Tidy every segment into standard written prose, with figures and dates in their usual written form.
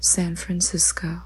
San Francisco.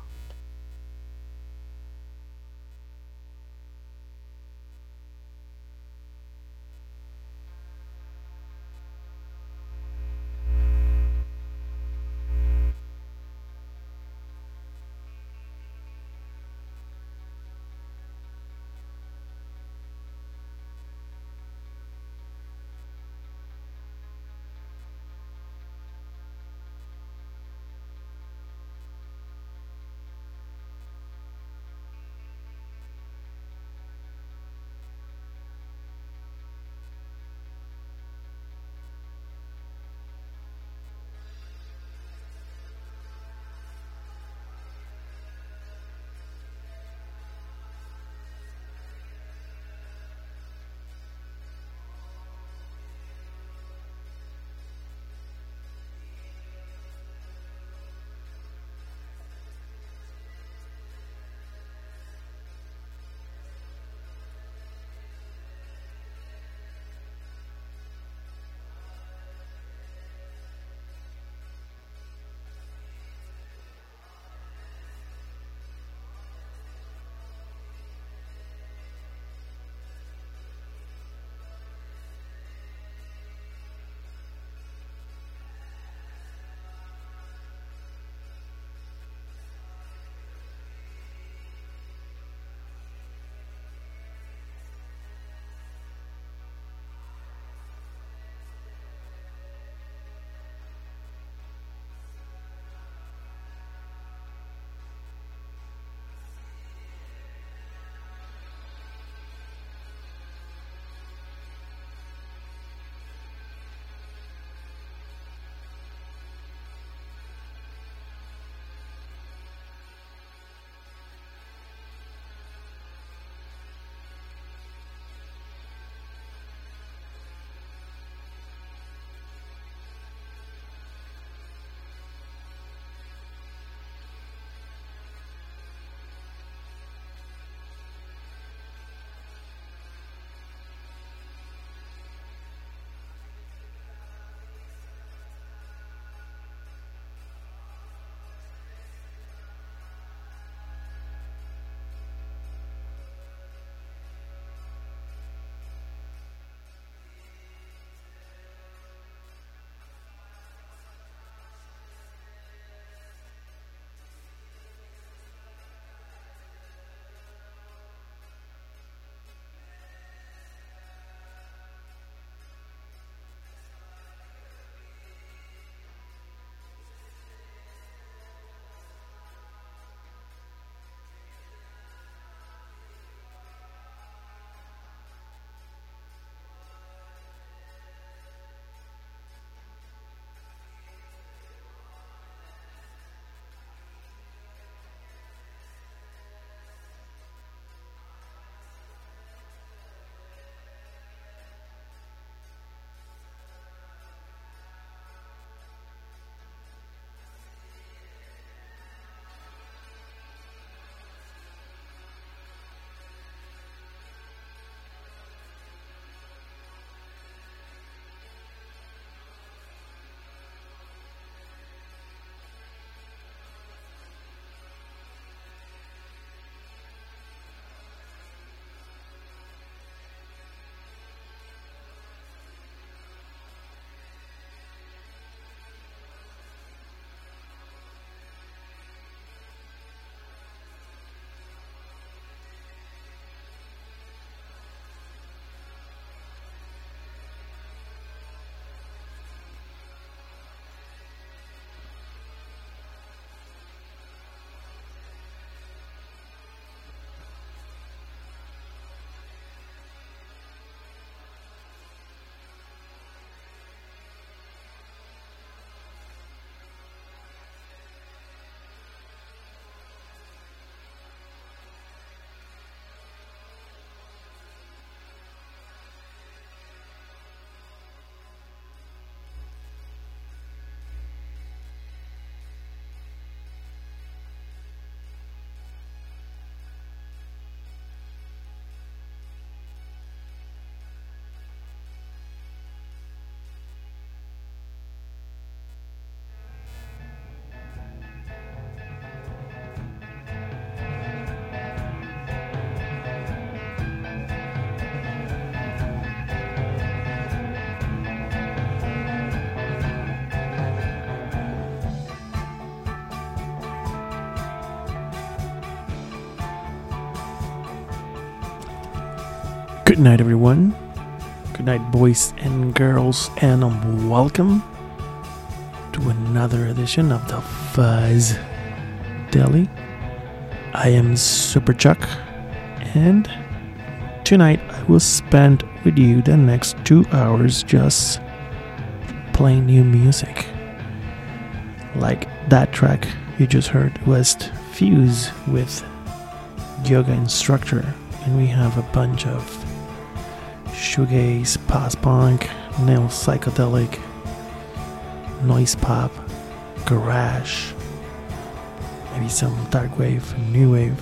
Good night, everyone. Good night, boys and girls, and welcome to another edition of the Fuzz Deli. I am Super Chuck, and tonight I will spend with you the next 2 hours just playing new music. Like that track you just heard was Fuse with Yoga Instructor, and we have a bunch of shoegaze, post-punk, neo-psychedelic, noise pop, garage, maybe some dark wave, new wave,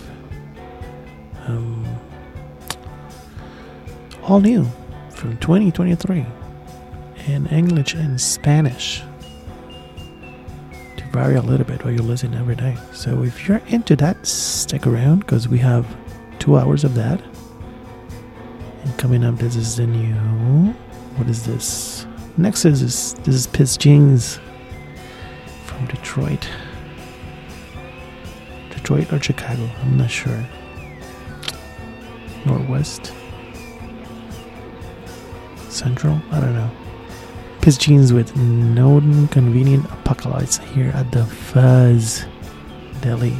all new from 2023 in English and Spanish to vary a little bit while you listen every day. So if you're into that, stick around because we have 2 hours of that. And coming up, this is the new. What is this? Next is this is Piss Jeans from Detroit. Detroit or Chicago? I'm not sure. Northwest, Central. I don't know. Piss Jeans with No Convenient Apocalypse here at the Fuzz Deli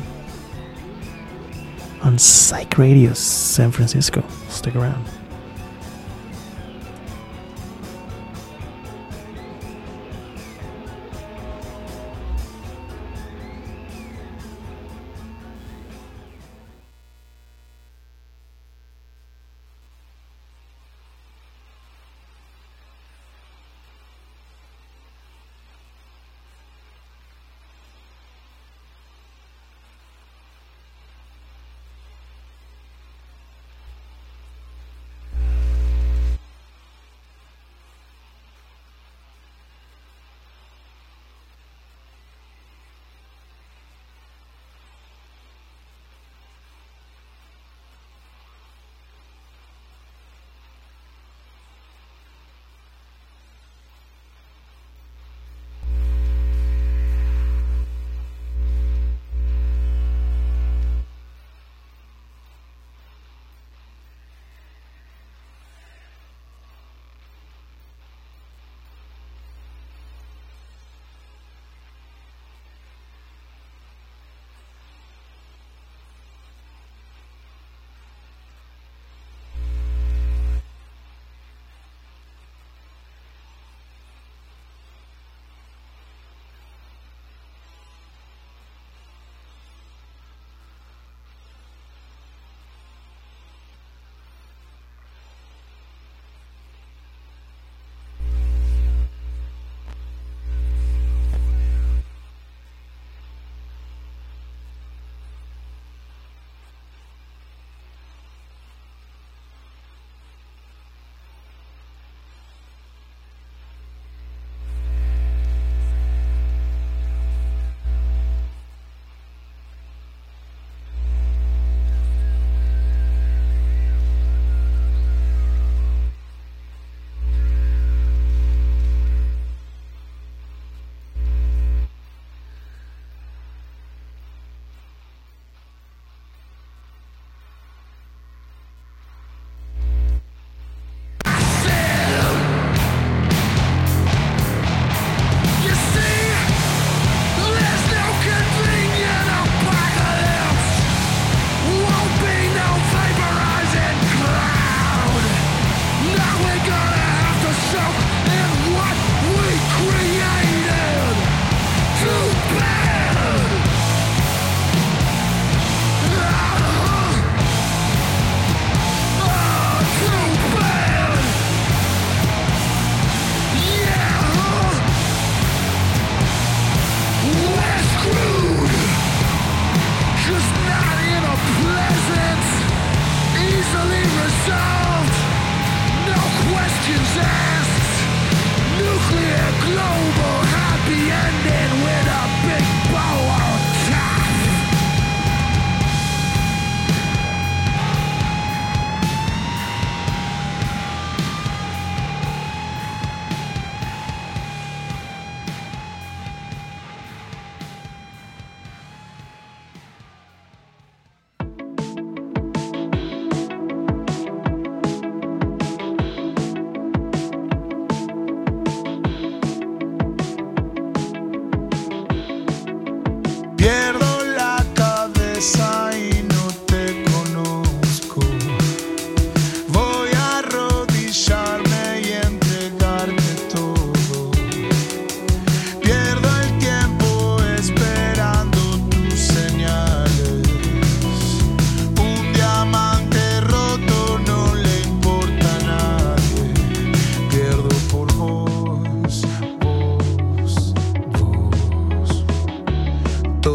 on Psych Radio San Francisco. Stick around.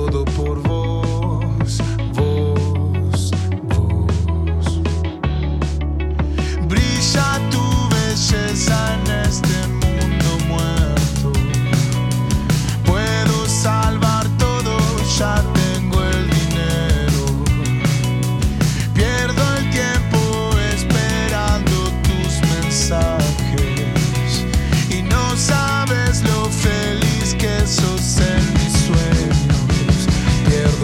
todo por vos, vos, vos. Brilla tu belleza en este mundo muerto. Puedo salvar todo, ya tengo el dinero. Pierdo el tiempo esperando tus mensajes y no sabes lo feliz que sos en mis sueños. Pierdo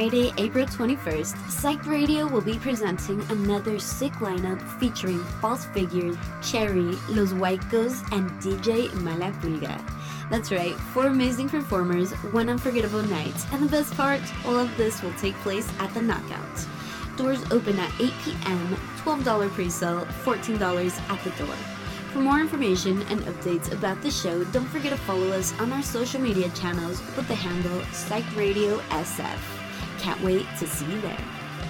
Friday, April 21st, Psych Radio will be presenting another sick lineup featuring False Figures, Cherry, Los Huaycos, and DJ Malapulga. That's right, 4 amazing performers, one unforgettable night, and the best part, all of this will take place at the Knockout. Doors open at 8 p.m., $12 pre-sale, $14 at the door. For more information and updates about the show, don't forget to follow us on our social media channels with the handle PsychRadioSF. Can't wait to see you there.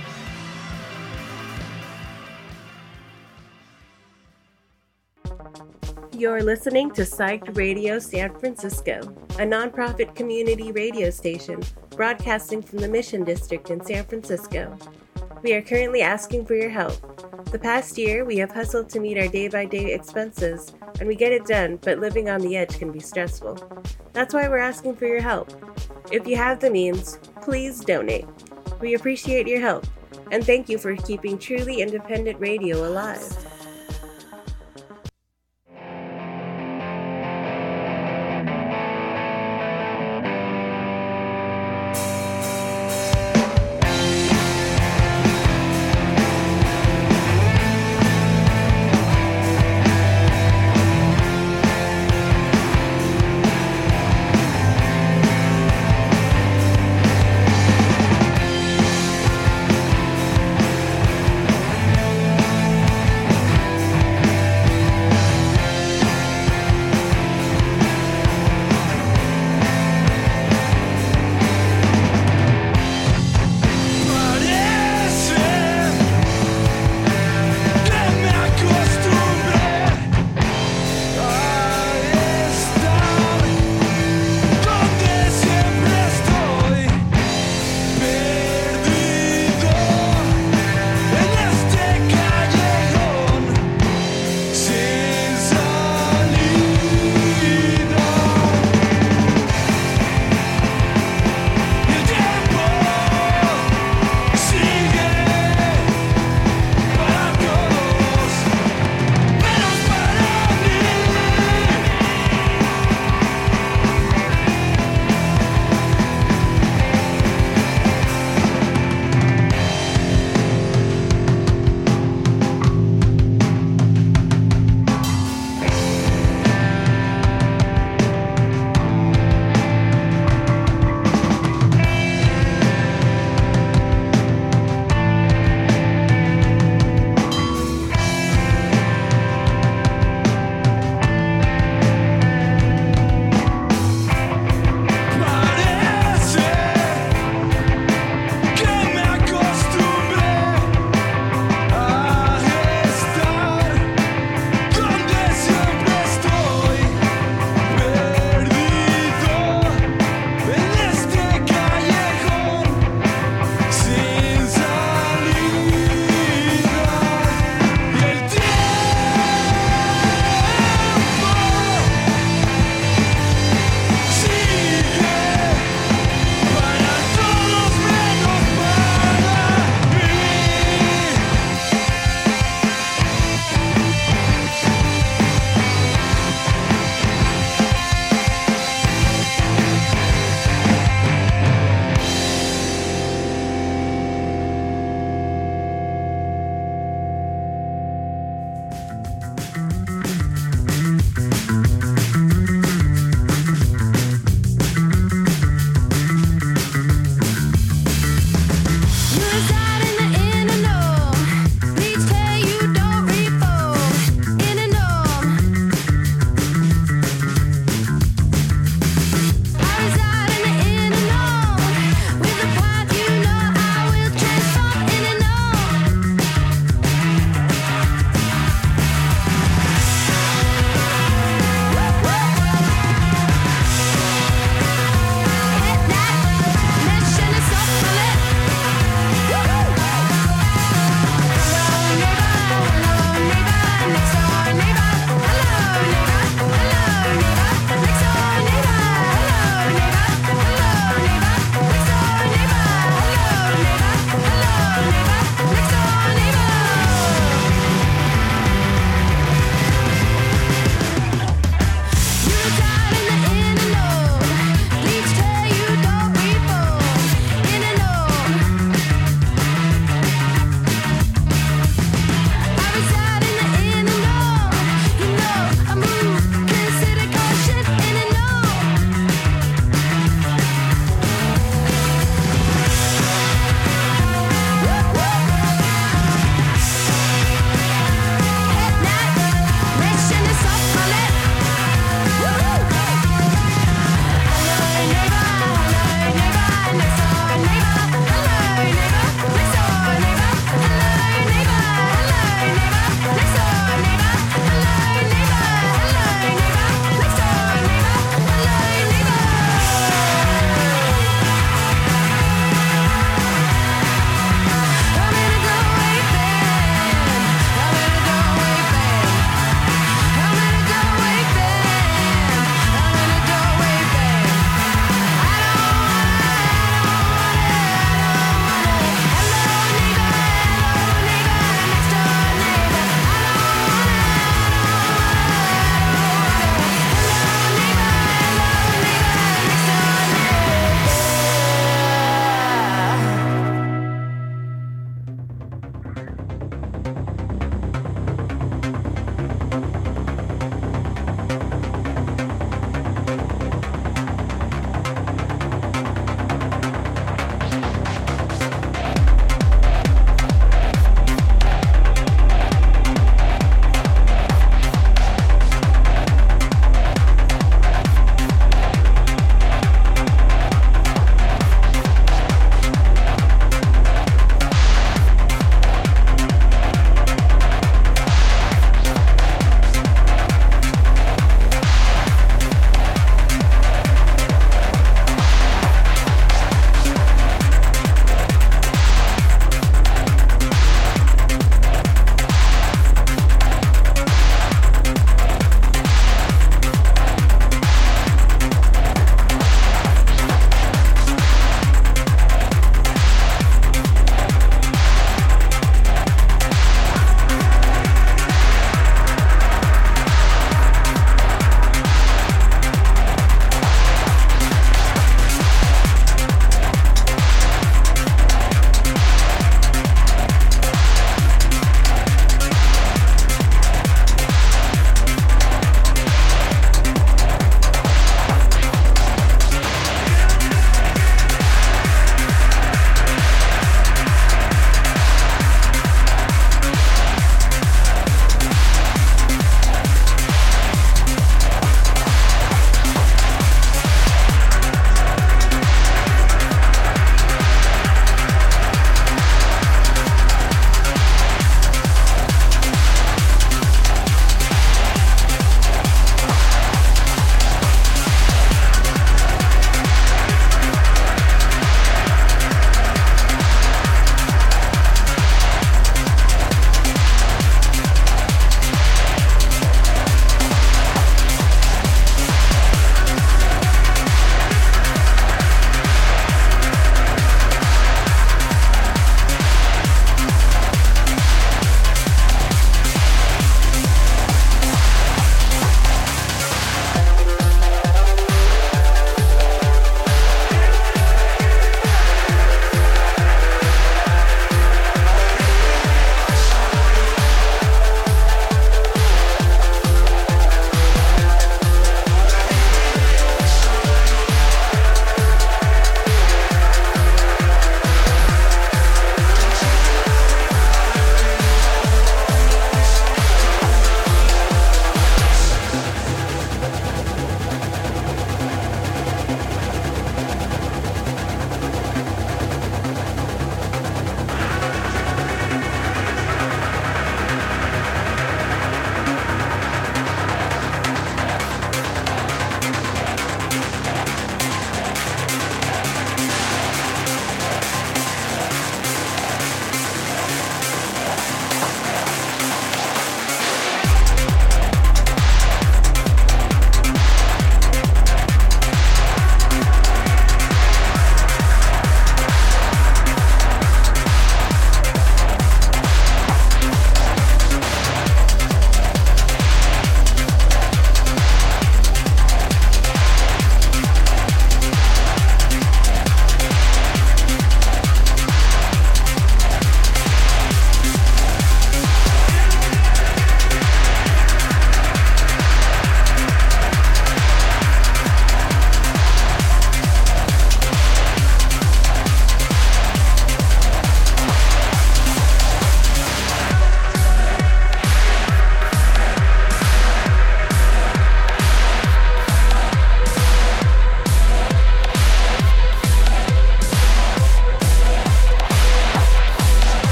You're listening to Psyched Radio San Francisco, a nonprofit community radio station broadcasting from the Mission District in San Francisco. We are currently asking for your help. The past year, we have hustled to meet our day-by-day expenses, and we get it done, but living on the edge can be stressful. That's why we're asking for your help. If you have the means, please donate. We appreciate your help, and thank you for keeping truly independent radio alive.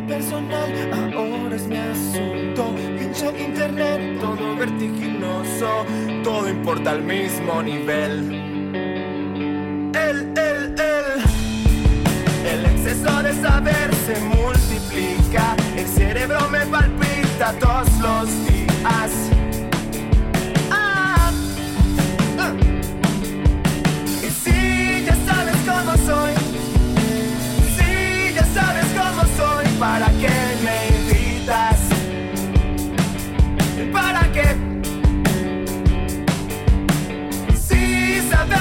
personal, ahora es mi asunto. Pincho internet, todo vertiginoso, todo importa al mismo nivel. El exceso de saber se multiplica, el cerebro me palpita todos los días. Y si ya sabes cómo soy, si ya sabes cómo soy, ¿para qué me invitas? ¿Para qué? Si sabes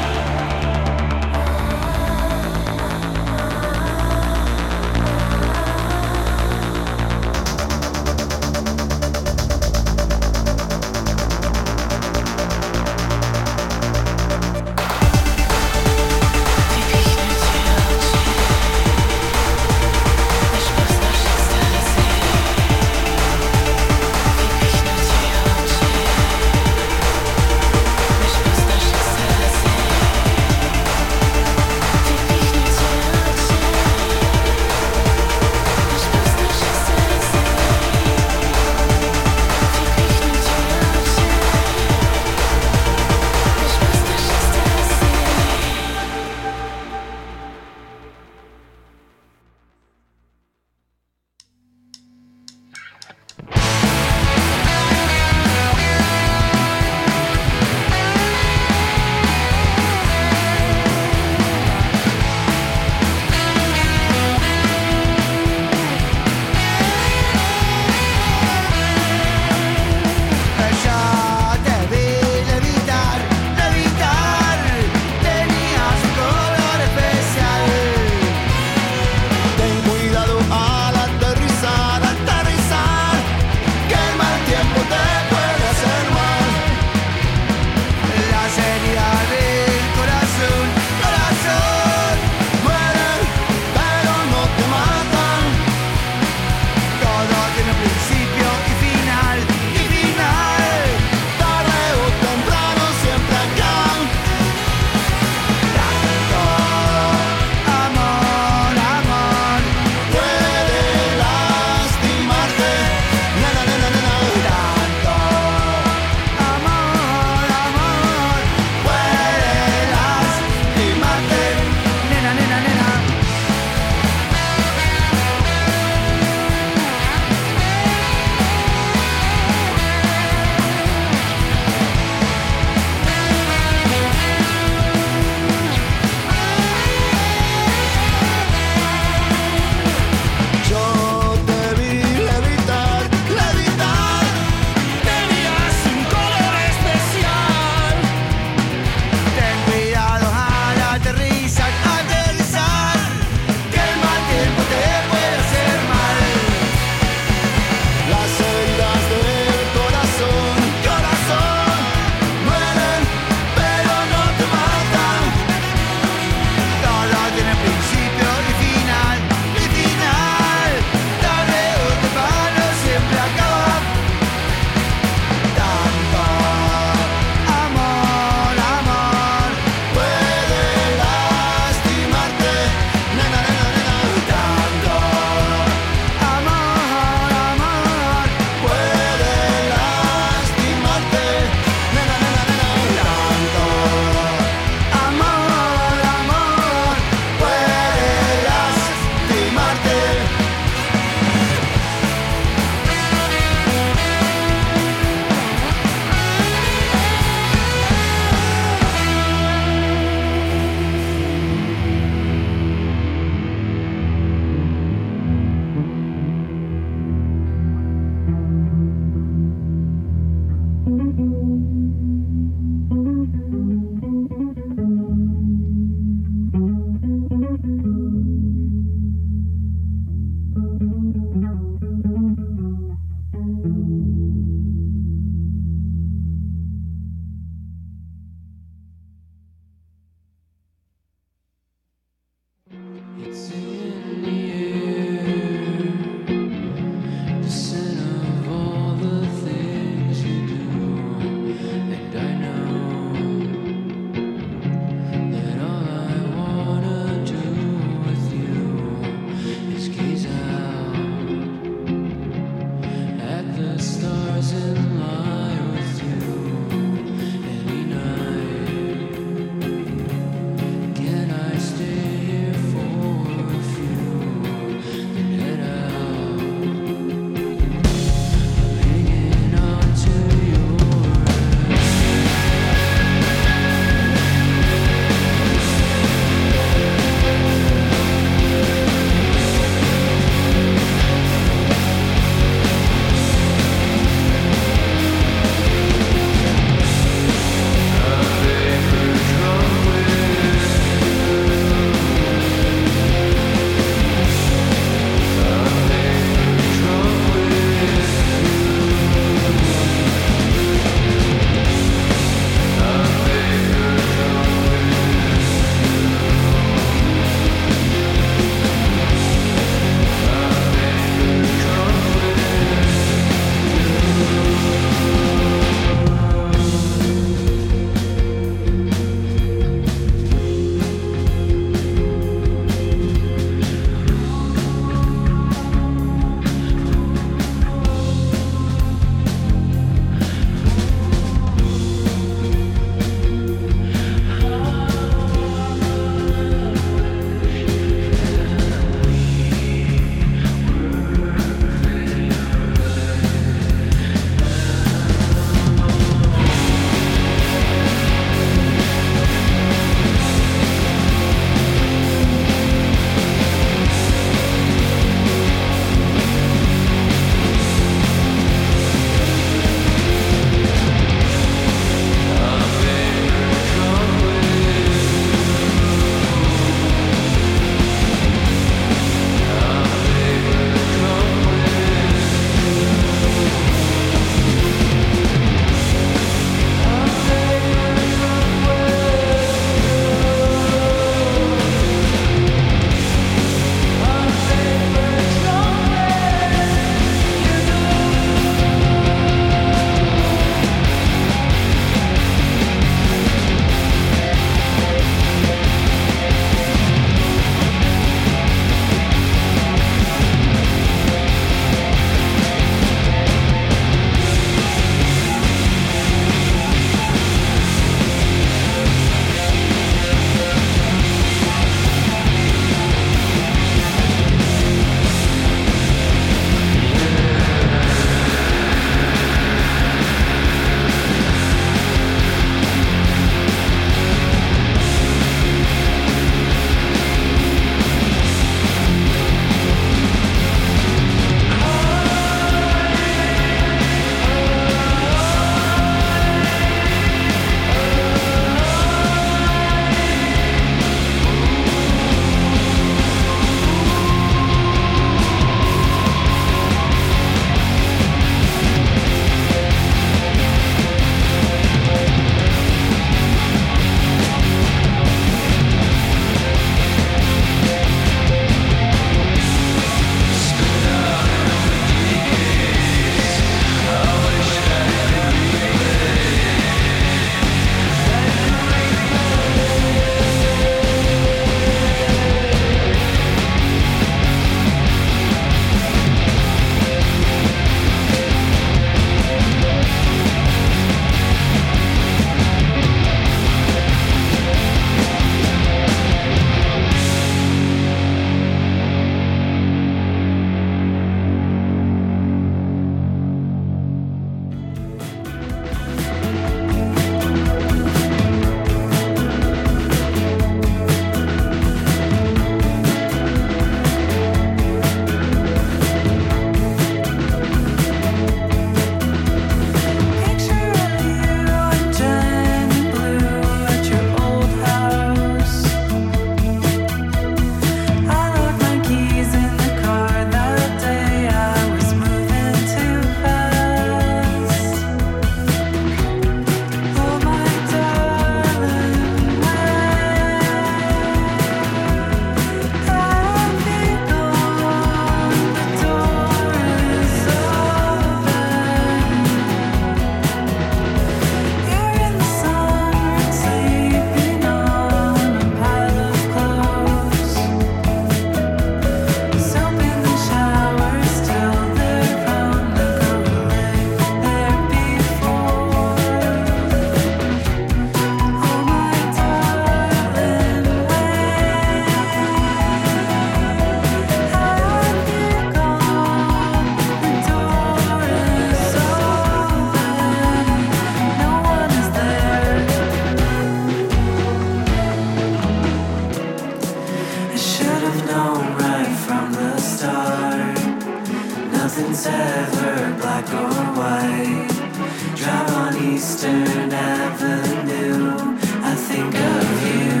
Eastern Avenue, I think of you.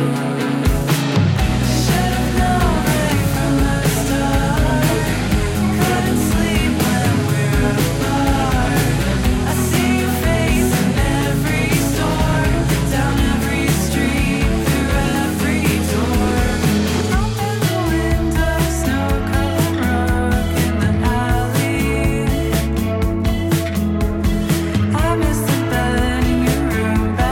Should have known right from the start. Couldn't sleep when we're apart. I see your face in every store, down every street, through every door. Open the window, snow-covered rug in the alley. I miss the bed in your room.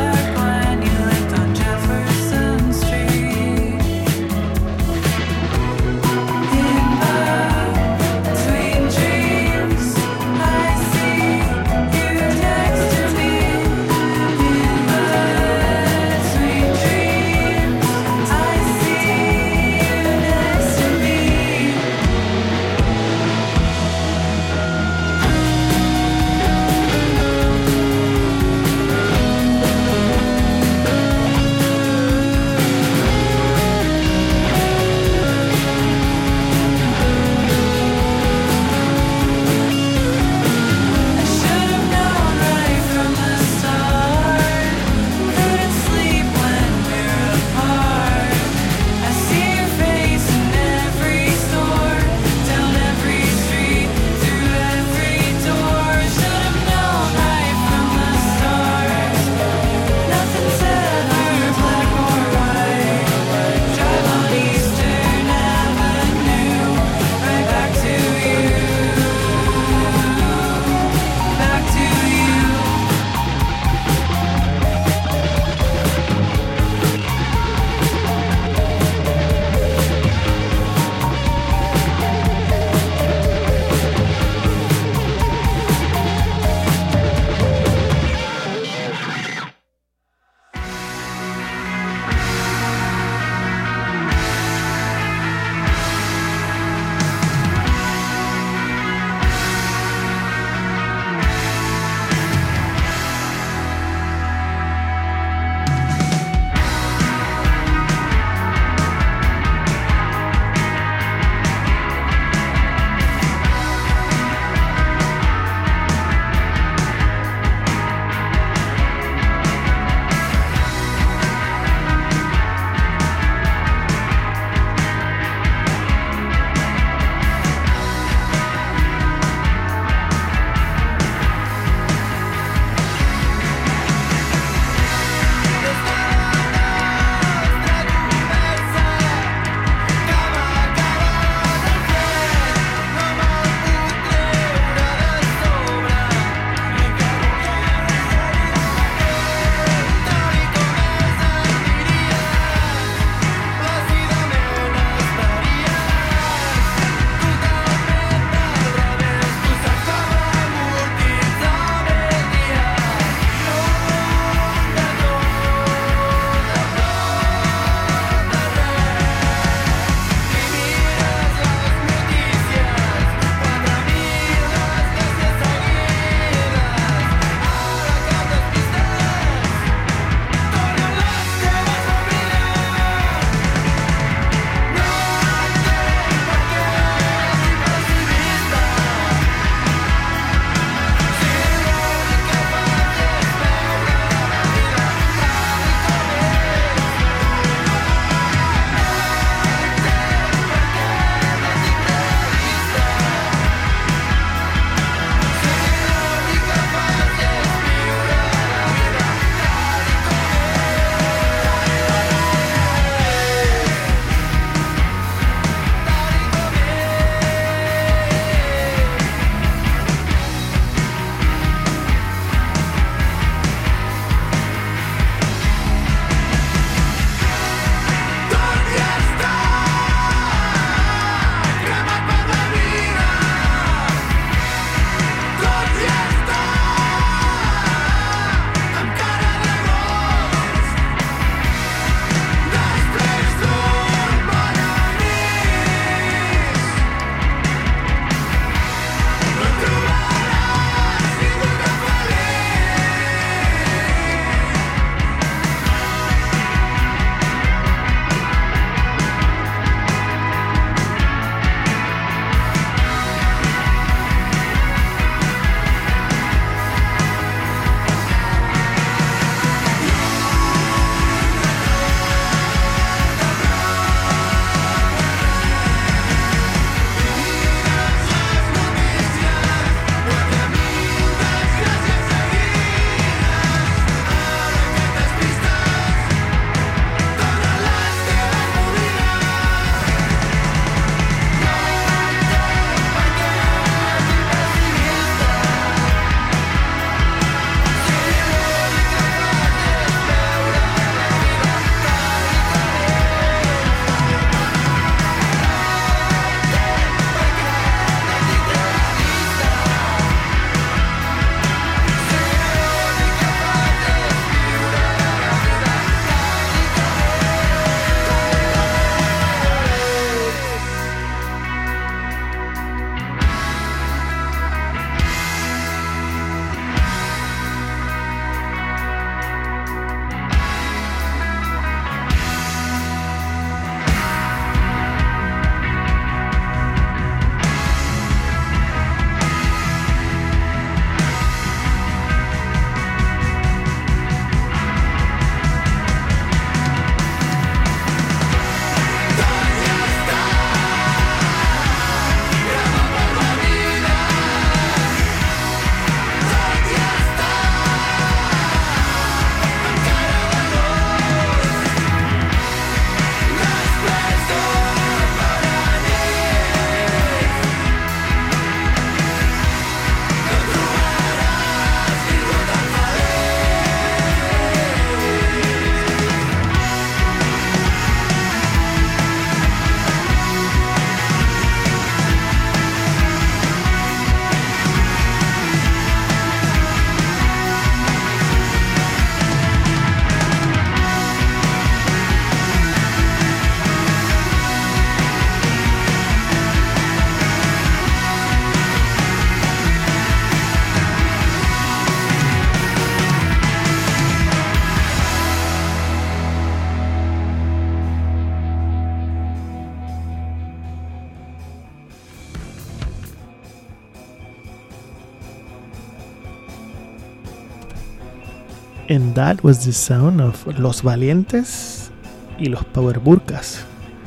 And that was the sound of Los Valientes y los Power Burkas.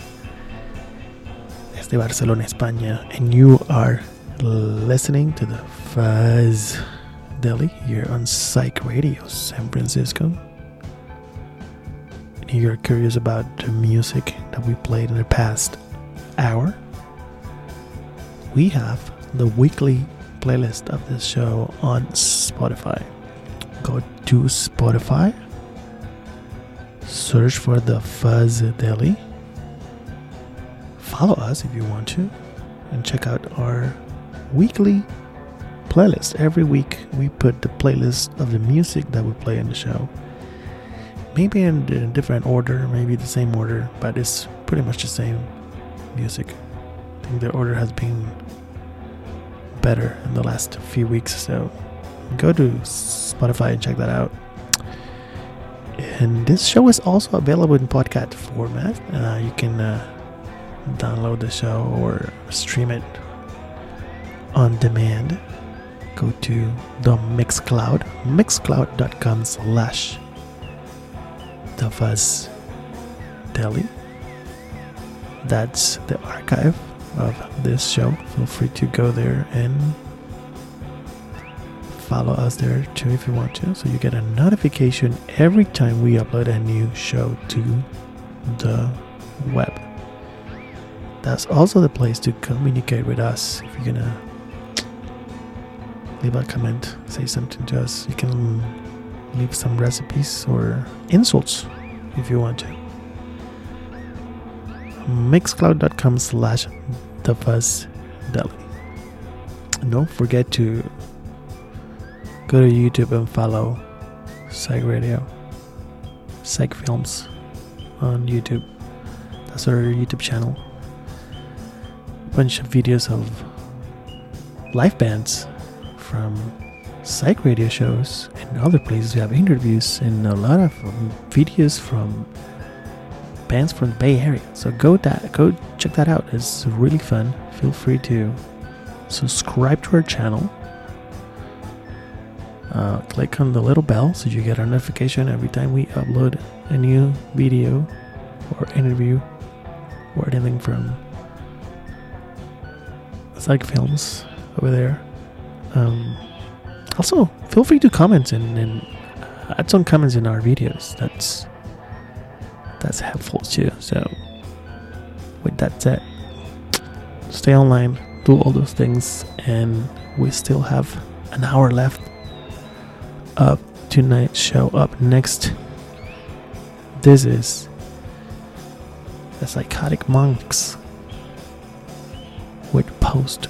Desde Barcelona, España. And you are listening to the Fuzz Deli here on Psych Radio San Francisco. And you're curious about the music that we played in the past hour. We have the weekly playlist of this show on Spotify. Go to Spotify, search for the Fuzz Deli, follow us if you want to, and check out our weekly playlist. Every week we put the playlist of the music that we play in the show, maybe in a different order, maybe the same order, but it's pretty much the same music. I think the order has been better in the last few weeks, so go to Spotify and check that out. And this show is also available in podcast format. You can download the show or stream it on demand. Go to the Mixcloud, mixcloud.com/TheFuzzDeli. That's the archive of this show. Feel free to go there and follow us there too if you want to, so you get a notification every time we upload a new show to the web. That's also the place to communicate with us. If you're gonna leave a comment, say something to us, you can leave some recipes or insults if you want to. Mixcloud.com/TheFuzzDeli. Don't forget to go to YouTube and follow Psych Radio, Psych Films on YouTube. That's our YouTube channel. Bunch of videos of live bands from Psych Radio shows and other places. We have interviews and a lot of videos from bands from the Bay Area. So go check that out. It's really fun. Feel free to subscribe to our channel. Click on the little bell so you get a notification every time we upload a new video or interview or anything from Psych Films over there. Also, feel free to comment and add some comments in our videos. That's helpful too. So, with that said, stay online, do all those things, and we still have an hour left of tonight's show. Up next, this is the Psychotic Monks with Post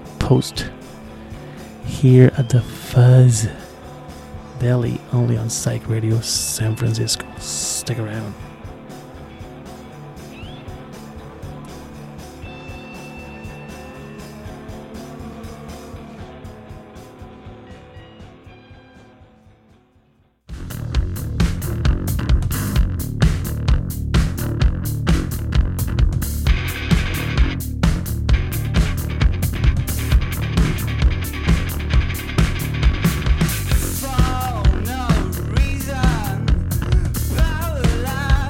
here at the Fuzz Deli, only on Psych Radio San Francisco. Stick around. For no reason, power line.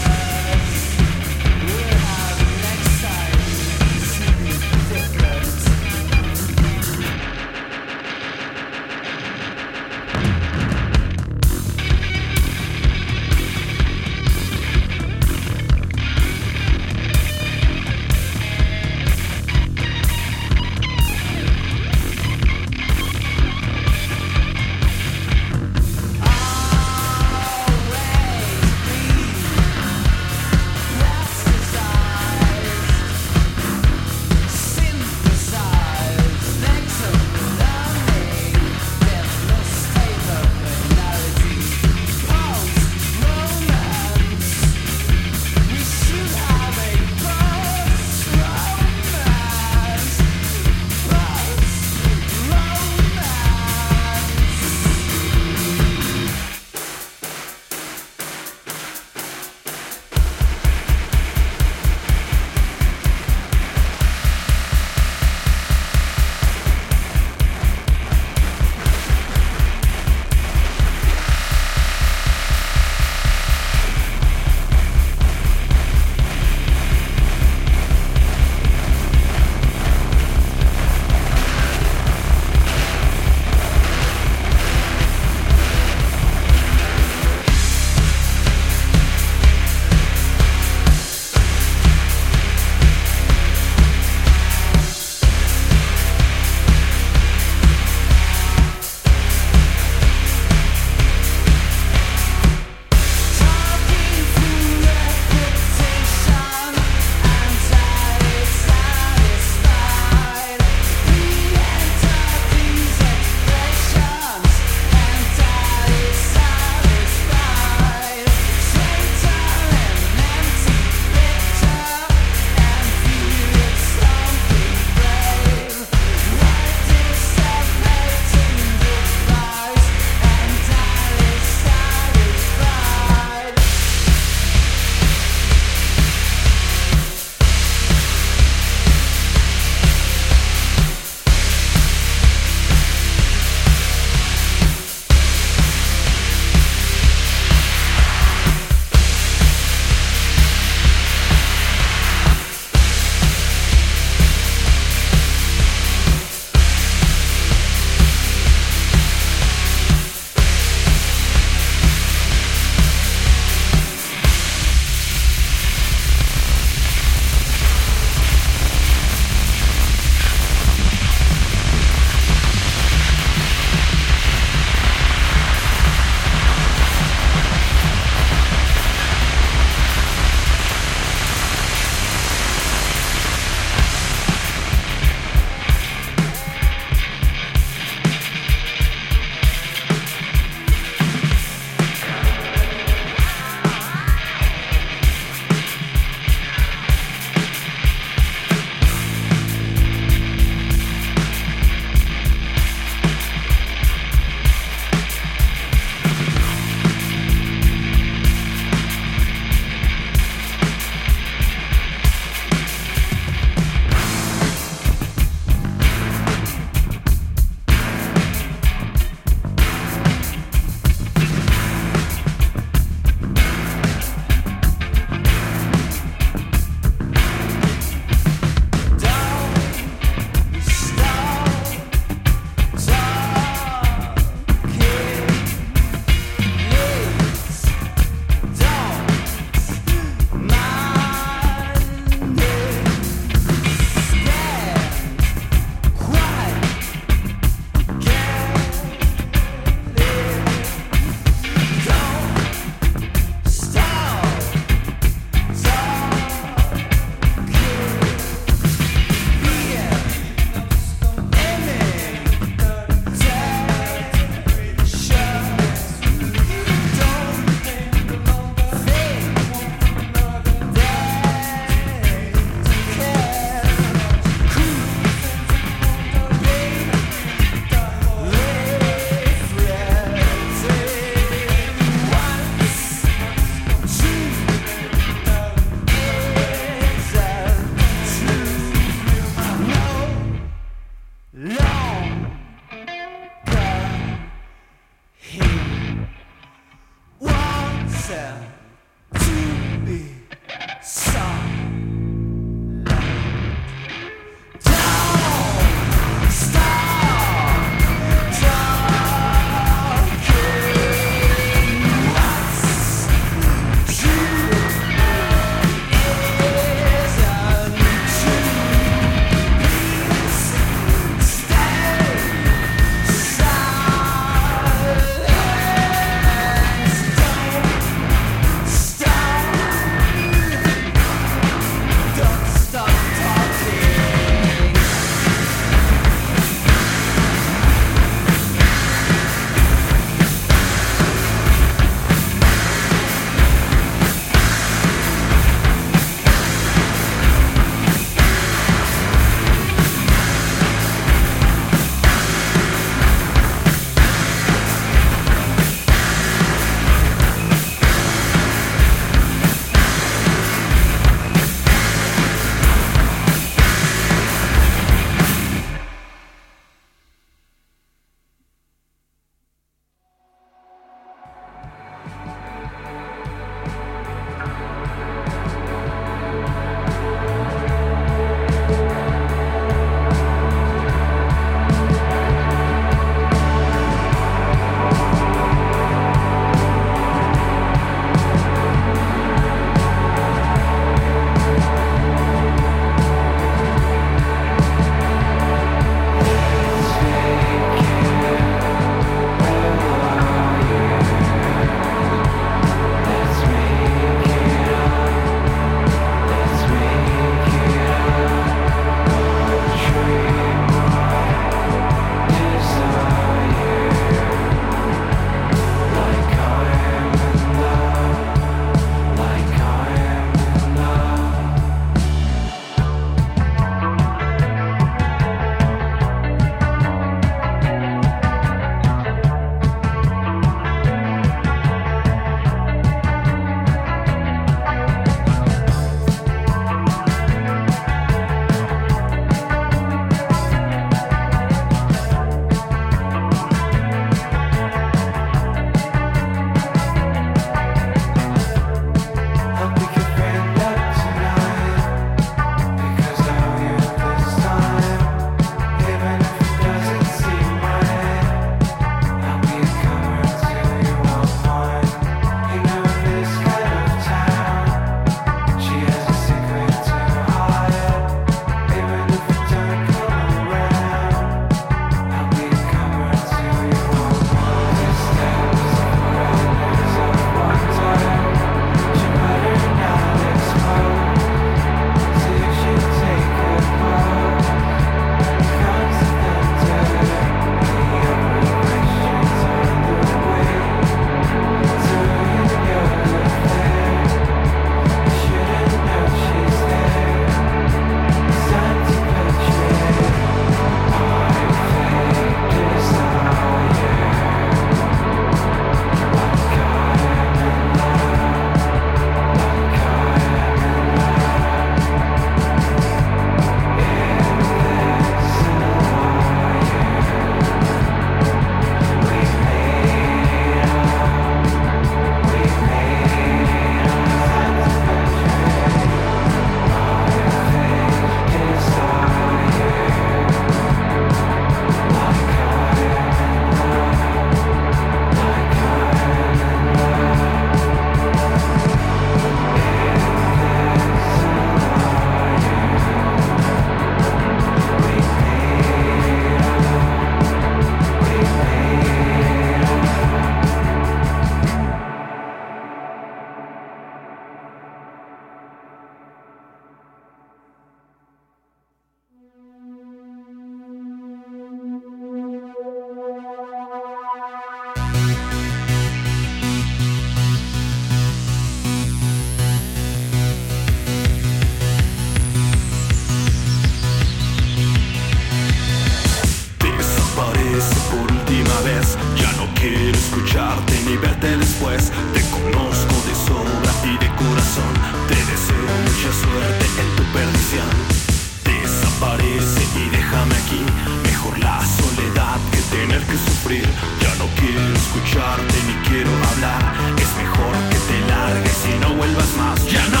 sufrir. Ya no quiero escucharte ni quiero hablar. Es mejor que te largues y no vuelvas más. Ya no.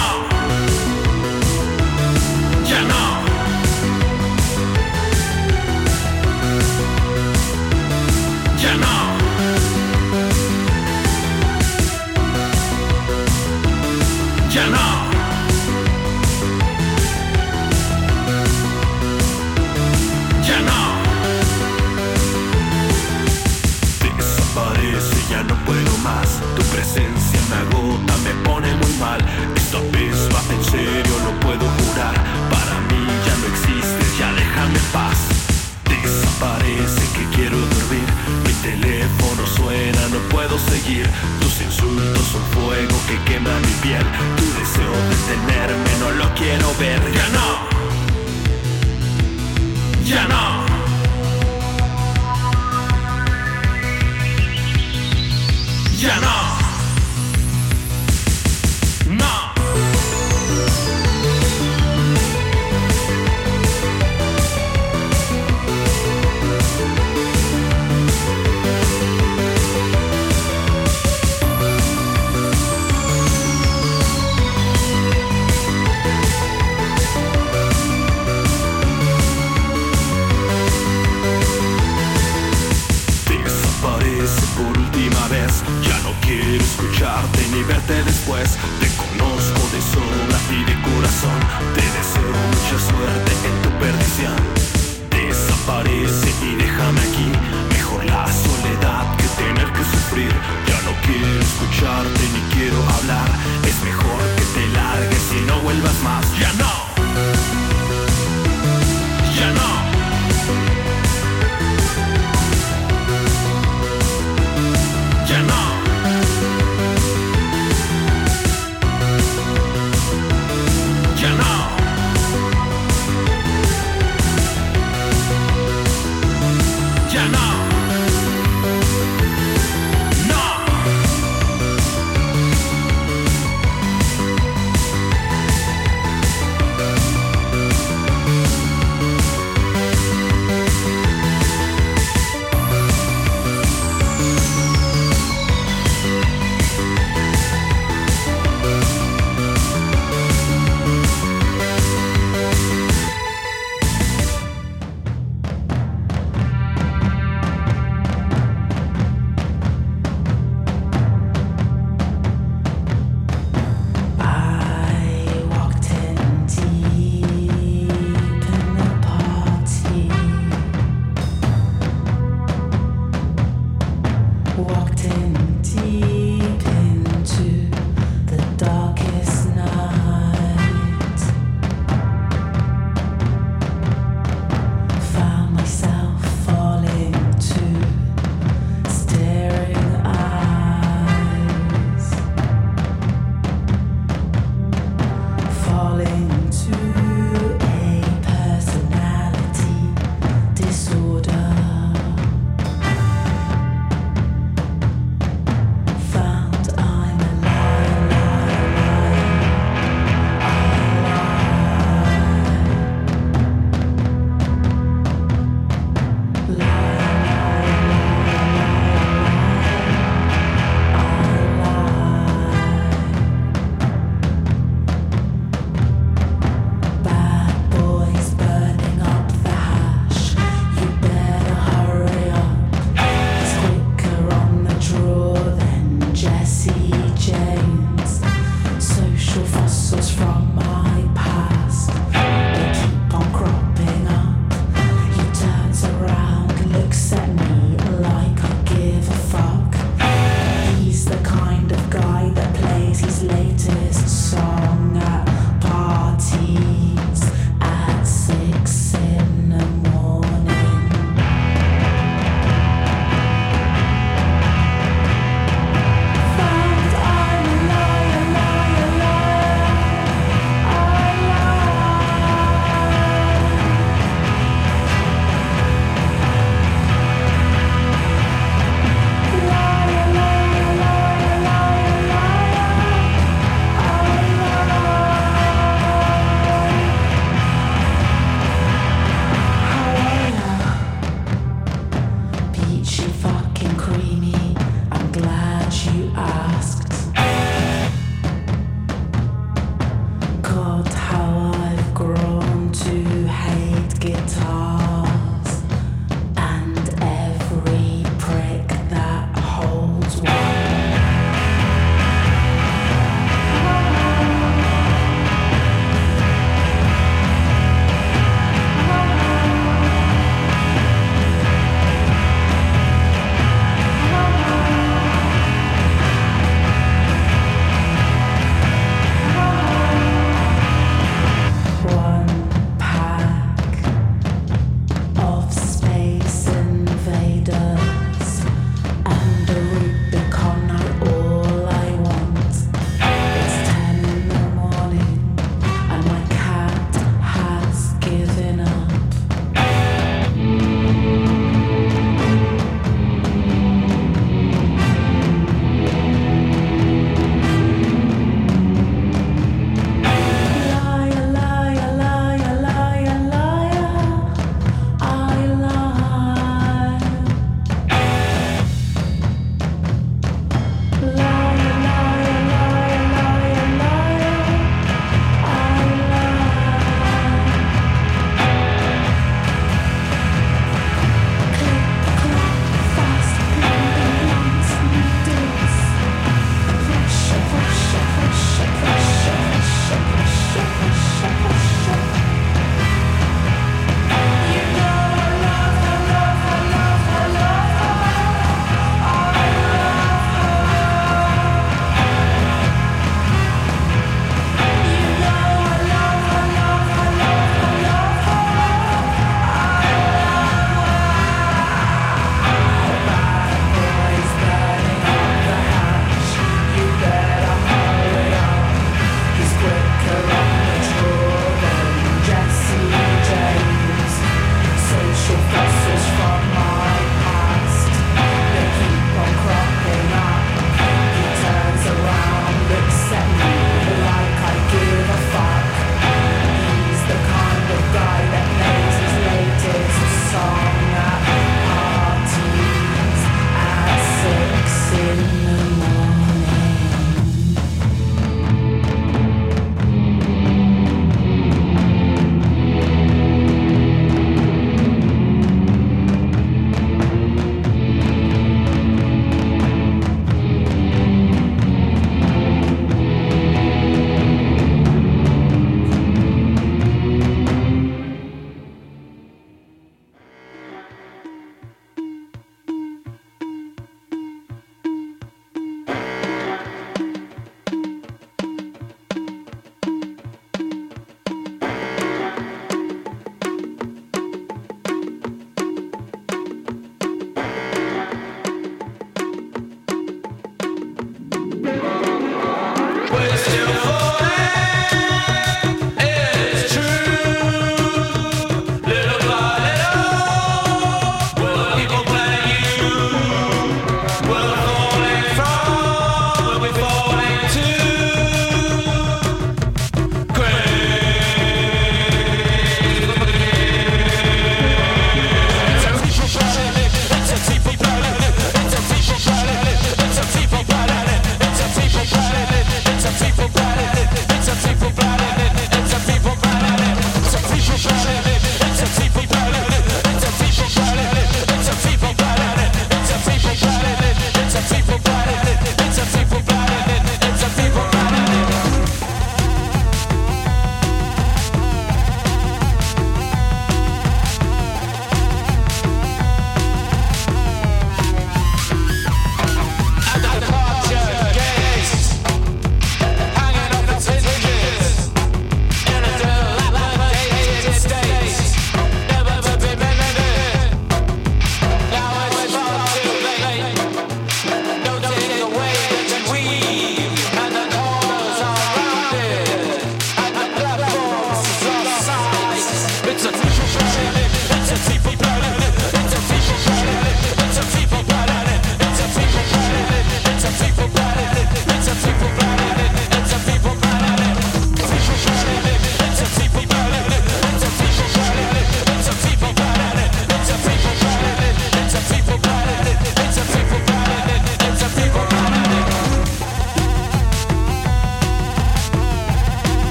Ya no. Ya no. Ya no. Ya no. Desaparece, ya no puedo más. Tu presencia me agota, me pone muy mal. Esta vez va en serio, lo puedo jurar. Para mí ya no existes, ya déjame en paz. Desaparece que quiero dormir. Mi teléfono suena, no puedo seguir. Tus insultos son fuego que quema mi piel. Tu deseo de tenerme no lo quiero ver. Ya no. Ya no. Ya no. No. Desaparece por última vez. Ya no quiero escucharte ni verte después. Te conozco de sobra y de corazón. Te deseo mucha suerte en tu perdición. Desaparece y déjame aquí. Mejor la soledad que tener que sufrir. Ya no quiero escucharte ni quiero hablar. Es mejor que te largues y no vuelvas más. Ya no. Ya no. Ya no. Ya no. Ya no. No. I walked in deep in the party. Walked in deep into the darkest night. Found myself falling to staring eyes. Falling to a personality disorder. fucking creamy. I'm glad you asked. God, how I've grown to hate guitars and every prick that holds one.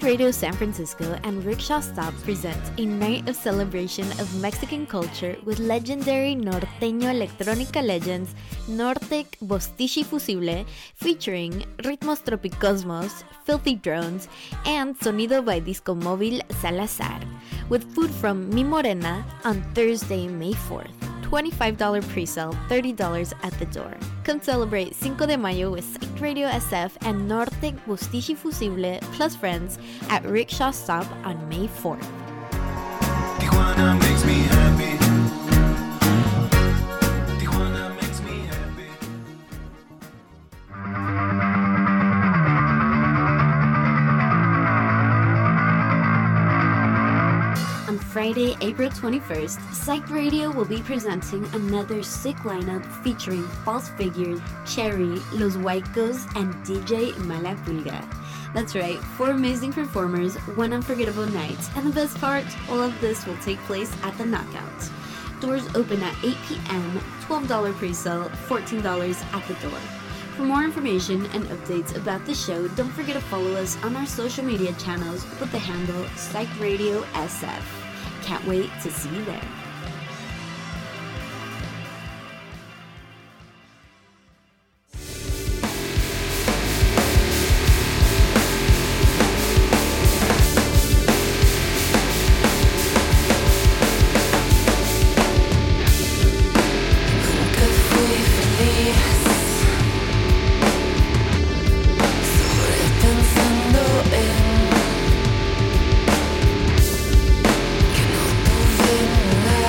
Psych Radio San Francisco and Rickshaw Stop present a night of celebration of Mexican culture with legendary norteño electrónica legends Nortec Bostichi Fusible, featuring Ritmos Tropicosmos, Filthy Drones, and Sonido by Disco Móvil Salazar, with food from Mi Morena on Thursday, May 4th. $25 pre-sale, $30 at the door. Come celebrate Cinco de Mayo with Psych Radio SF and Nortec Bostichi Fusible plus friends at Rickshaw Stop on May 4th. Tijuana makes me happy. Tijuana makes me happy. On Friday, April 21st, Psych Radio will be presenting another sick lineup featuring False Figures, Cherry, Los Huaycos, and DJ Malapulga. That's right, 4 amazing performers, 1 unforgettable night, and the best part, all of this will take place at the Knockout. Doors open at 8 p.m., $12 pre-sale, $14 at the door. For more information and updates about the show, don't forget to follow us on our social media channels with the handle Psych Radio SF. Can't wait to see you there. Nunca fui feliz, solo pensando en que no tuve nada.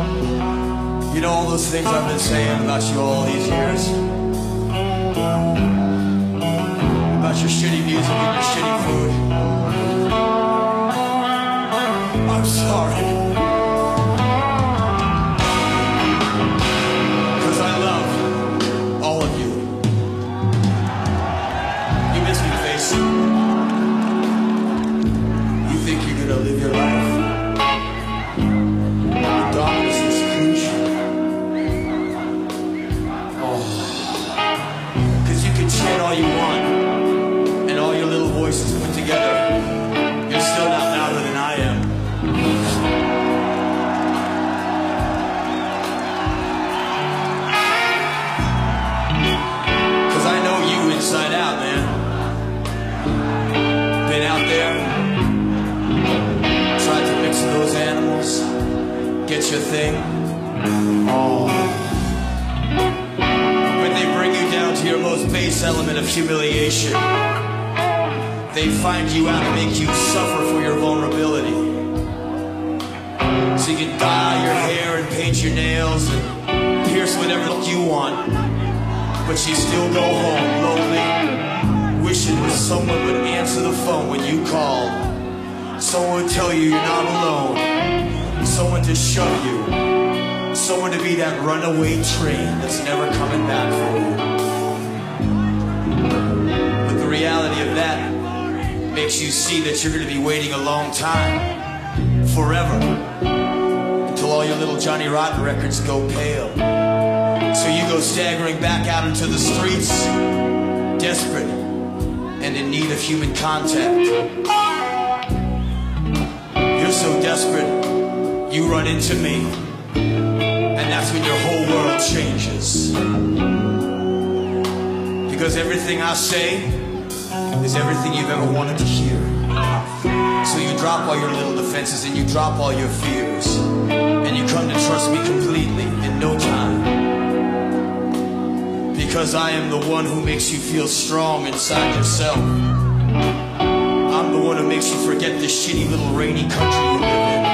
You know all those things I've been saying about you all these years? About your shitty music and your shitty food. I'm sorry. Because I love all of you. You miss me, face. You think you're gonna live your life in darkness and seclusion. Because you can chant all you want, and all your little voices put together, you're still not louder than I am. Because I know you inside out, man. Been out there, tried to mix with those animals, get your thing. Oh. When they bring you down to your most base element of humiliation, they find you out and make you suffer for your vulnerability. So you can dye your hair and paint your nails and pierce whatever look you want, but you still go home lonely, wishing that someone would answer the phone when you called. Someone would tell you you're not alone. Someone to shove you. Someone to be that runaway train that's never coming back for you. But the reality of that makes you see that you're going to be waiting a long time, forever, until all your little Johnny Rotten records go pale. So you go staggering back out into the streets, desperate and in need of human contact. You're so desperate, you run into me, and that's when your whole world changes. Because everything I say is everything you've ever wanted to hear. So you drop all your little defenses and you drop all your fears, and you come to trust me completely in no time. Because I am the one who makes you feel strong inside yourself. I'm the one who makes you forget the shitty little rainy country you live in.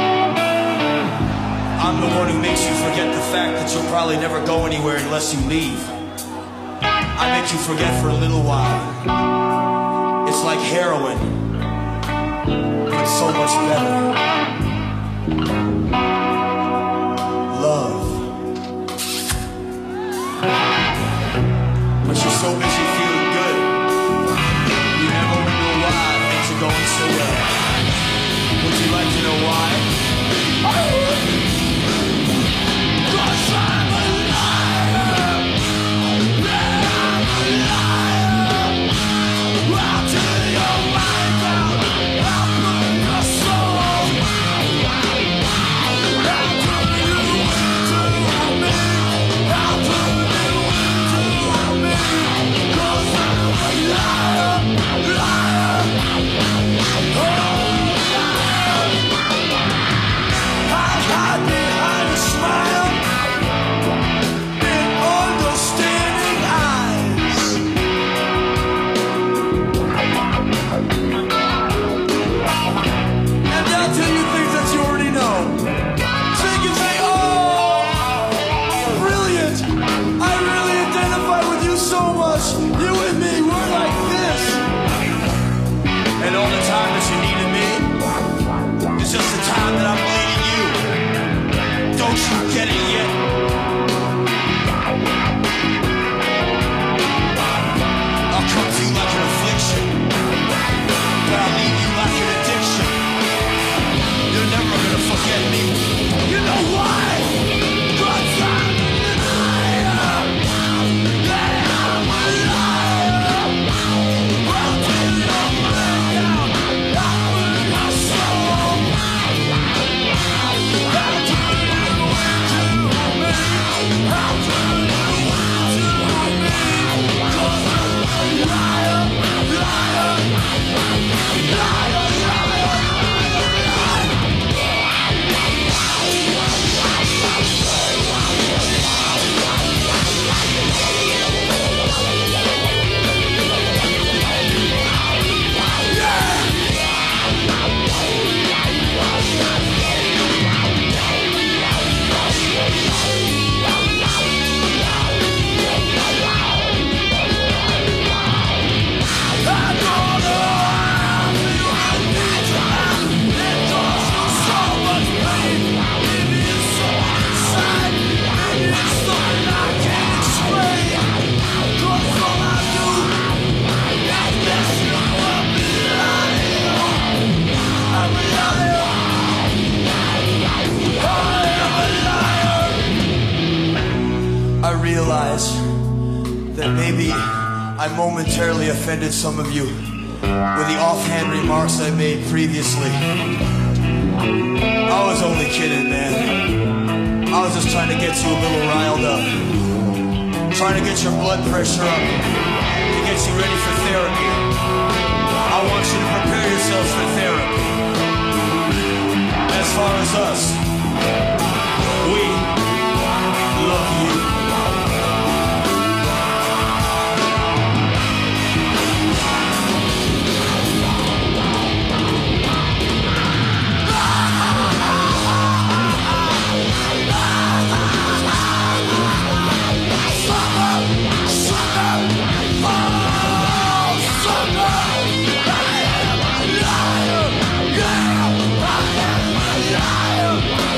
I'm the one who makes you forget the fact that you'll probably never go anywhere unless you leave. I make you forget for a little while. It's like heroin, but so much better. Love. But you're so busy feeling good, you never wonder why things are going so well. Would you like to know why? that maybe I momentarily offended some of you with the offhand remarks I made previously. I was only kidding, man. I was just trying to get you a little riled up. Trying to get your blood pressure up. To get you ready for therapy. I want you to prepare yourselves for therapy. As far as us, we love you. Yeah.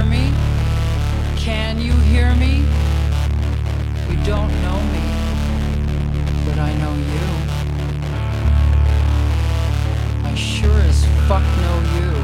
hear me? Can you hear me? You don't know me, but I know you. I sure as fuck know you.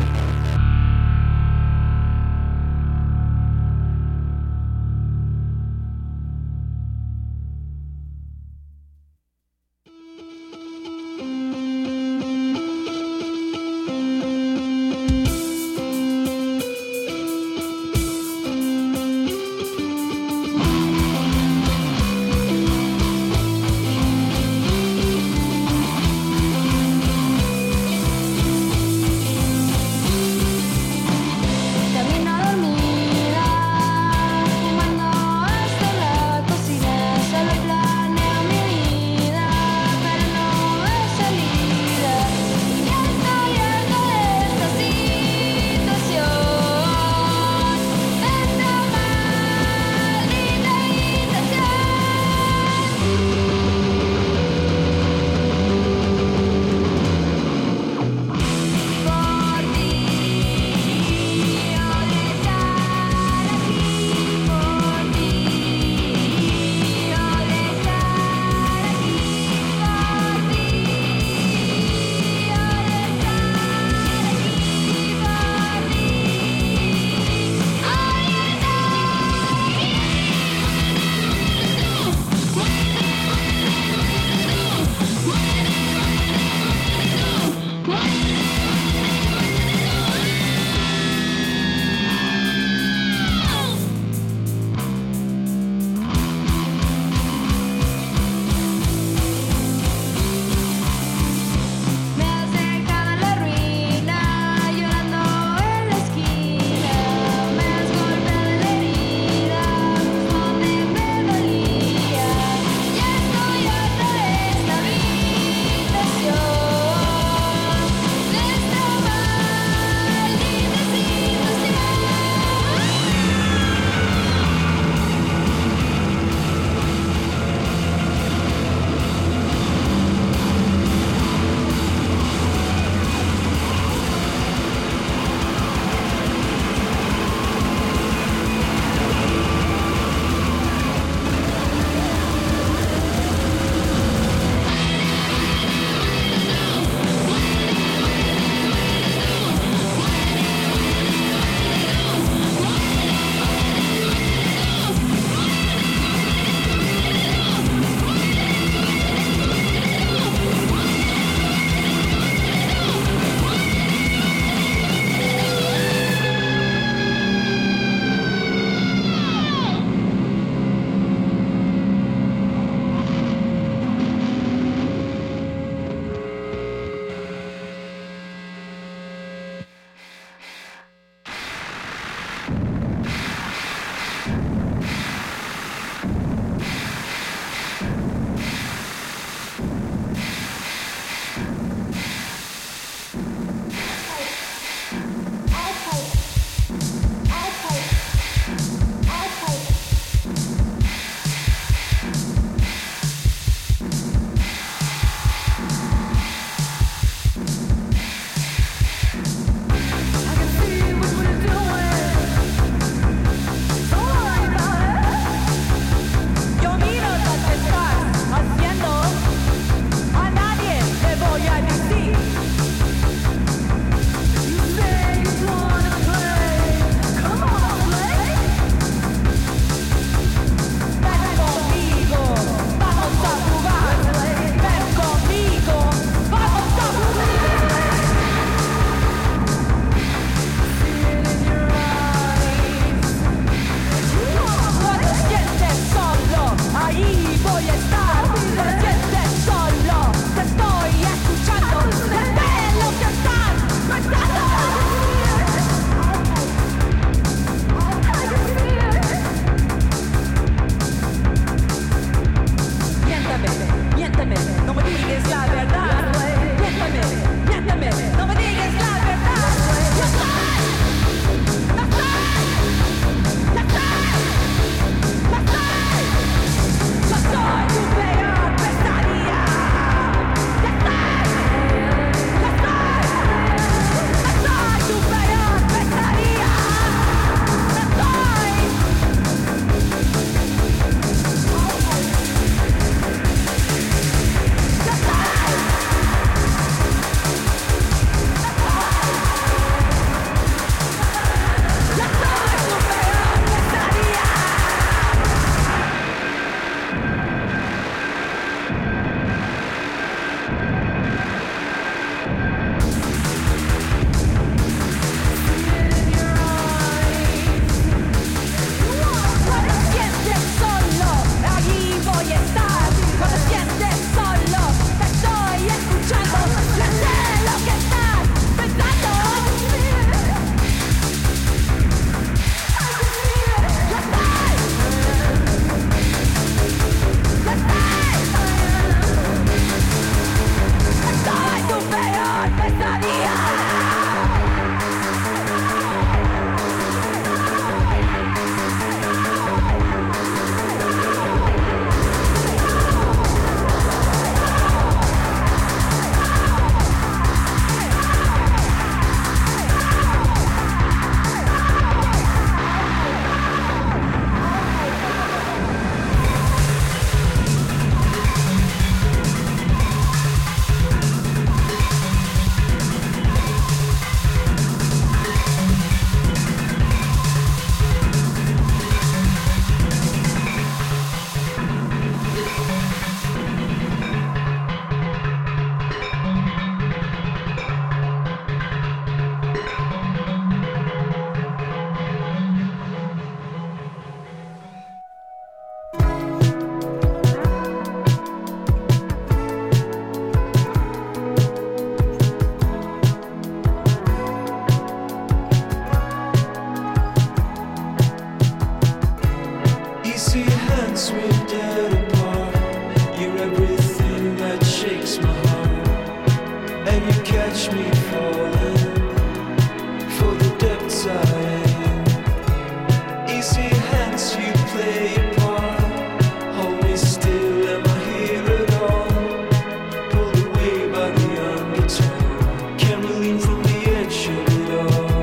once we're dead apart, you're everything that shakes my heart. And you catch me falling for the depths I am. Easy hands, you play your part. Hold me still, am I here at all? Pulled away by the undertow. Can't lean from the edge of it all.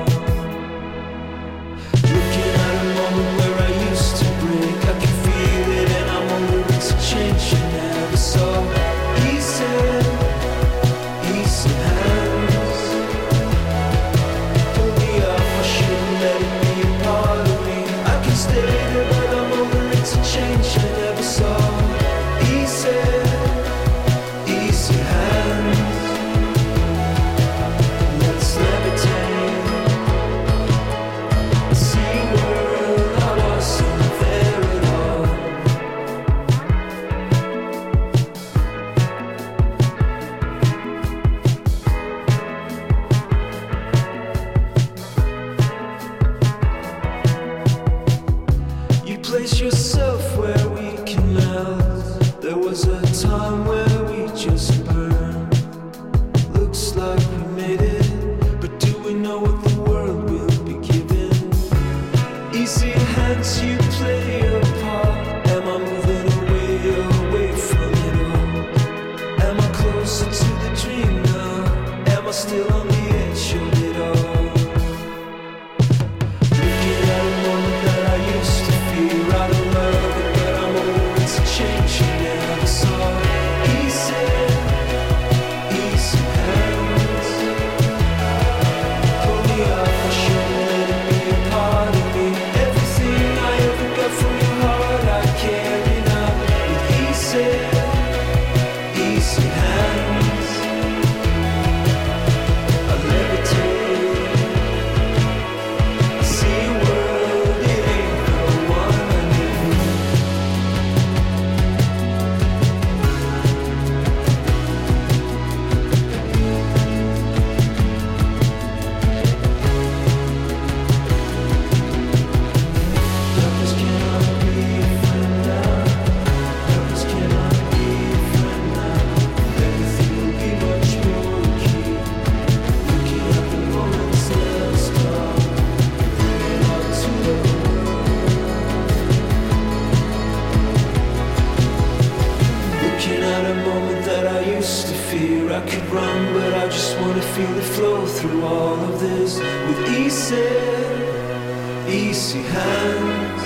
Looking at a moment where I used to break, I can feel it and I'm over it to change. You never saw easy, easy hands. Pull me up, I shouldn't let it be a part of me. I can stay there, but I'm over it to change. I never saw easy, easy hands. Let's levitate. See world, I wasn't there at all. You place yourself where we can melt. There was a time where we just burned. Looks like we made it, but do we know what the world will be giving? Easy hands, you play your part. Am I moving away from it all? Am I closer to the dream now? Am I still on the edge of it all? Looking at a moment that I used to feel right of love, but I'm over it to change. You never saw easy, easy hands. Pull me up, I shouldn't let it be a part of me. Everything I ever got from your heart, I carry now with easy, easy hands. I levitate. I see a world, it ain't the one I knew. Darkness cannot be a friend now. Darkness cannot be a friend now. Everything will be much more key. Looking at the moments that stop. Bringing out to the world. Looking at a moment that I used to fear. I could run, but I just wanna feel it flow through all of this with easy, easy hands.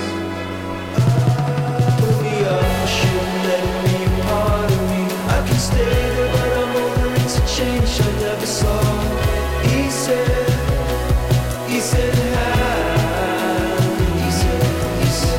Pull me up, I shouldn't let it be a part of me. I can stay there, but I'm over it to change. I never saw easy, easy hands. Easy, easy.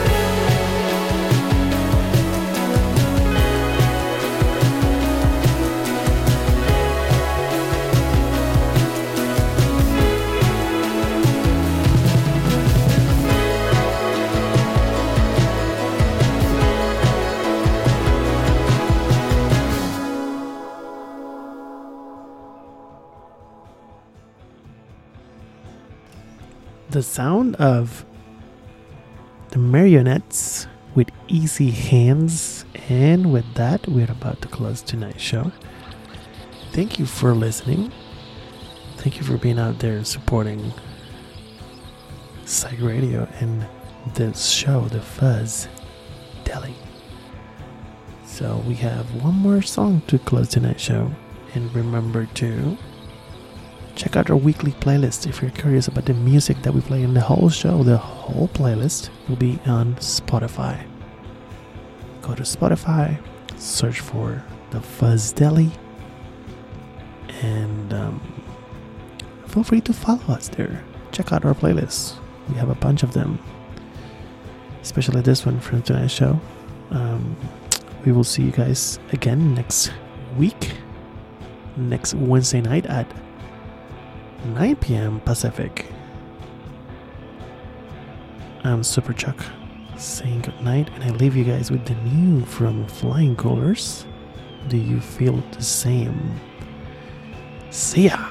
The sound of the Marionettes with Easy Hands. And with that, we're about to close tonight's show. Thank you for listening. Thank you for being out there and supporting Psych Radio and this show, The Fuzz Deli. So we have one more song to close tonight's show. And remember to check out our weekly playlist if you're curious about the music that we play in the whole show. The whole playlist will be on Spotify. Go to Spotify, search for The Fuzz Deli, and feel free to follow us there. Check out our playlists. We have a bunch of them, especially this one from tonight's show. We will see you guys again next week, next Wednesday night at 9 p.m. Pacific. I'm Super Chuck saying good night, and I leave you guys with the new from Flying Colors. Do you feel the same? See ya!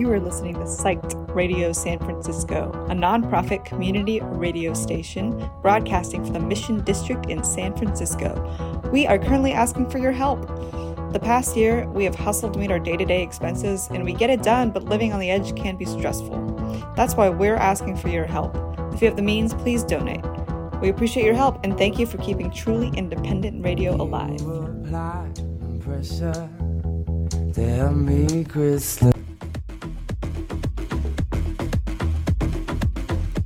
You are listening to Psyched Radio San Francisco, a nonprofit community radio station broadcasting from the Mission District in San Francisco. We are currently asking for your help. The past year, we have hustled to meet our day-to-day expenses, and we get it done, but living on the edge can be stressful. That's why we're asking for your help. If you have the means, please donate. We appreciate your help, and thank you for keeping truly independent radio alive. Tell me, Crystal.